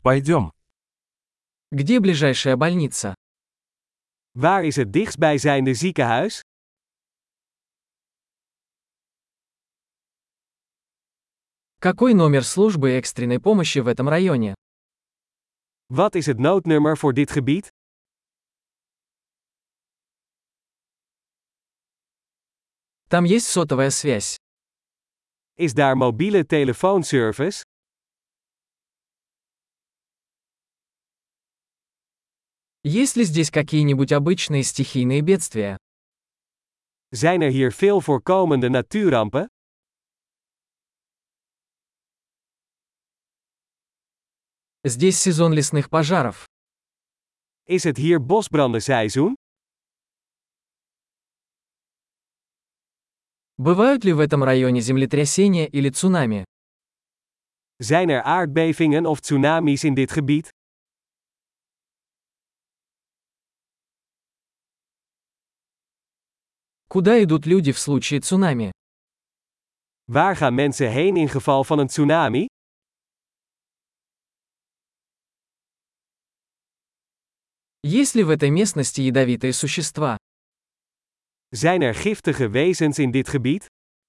Пойдем. Где ближайшая больница? Waar is het dichtstbijzijnde ziekenhuis? Какой номер службы экстренной помощи в этом районе? Wat is het noodnummer voor dit gebied? Там есть сотовая связь. Is daar mobiele telefoonservice? Есть ли здесь какие-нибудь обычные стихийные бедствия? Zijn er hier veel voorkomende natuurrampen? Здесь сезон лесных пожаров. Is het hier bosbrandenseizoen? Бывают ли в этом районе землетрясения или цунами? Zijn er aardbevingen of tsunamis in dit gebied? Куда идут люди в случае цунами? Waar gaan mensen heen in geval van een tsunami? Есть ли в этой местности ядовитые существа? Zijn er giftige wezens in dit gebied?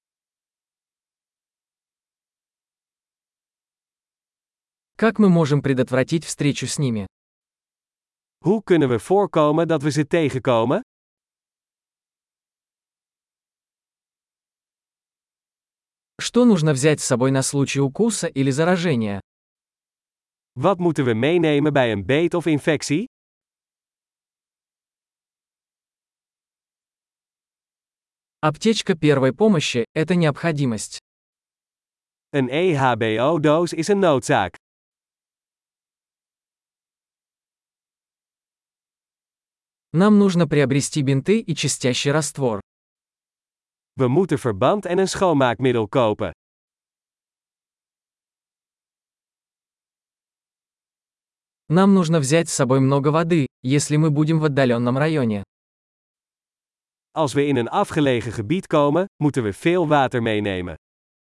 Как мы можем предотвратить встречу с ними? Hoe kunnen we voorkomen dat we ze tegenkomen? Что нужно взять с собой на случай укуса или заражения? Wat moeten we meenemen bij een beet of infectie? Аптечка первой помощи – это необходимость. Een EHBO-doos is een noodzaak. Нам нужно приобрести бинты и чистящий раствор. We moeten verband en een schoonmaakmiddel kopen. Нам нужно взять с собой много воды, если мы будем в отдаленном районе. Als we in een afgelegen gebied komen, moeten we veel water meenemen.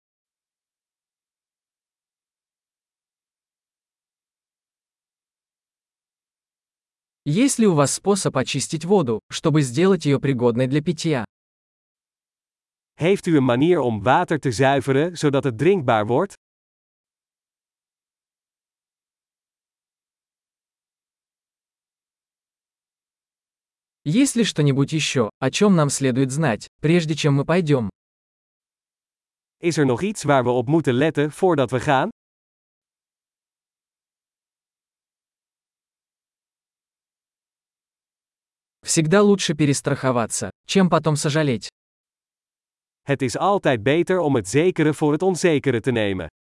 Есть ли у вас способ очистить воду, чтобы сделать ее пригодной для питья? Heeft u een manier om water te zuiveren zodat het drinkbaar wordt? Есть ли что-нибудь еще, о чем нам следует знать, прежде чем мы пойдем? Is er nog iets waar we op moeten letten voordat we gaan? Всегда лучше перестраховаться, чем потом сожалеть. Het is altijd beter om het zekere voor het onzekere te nemen.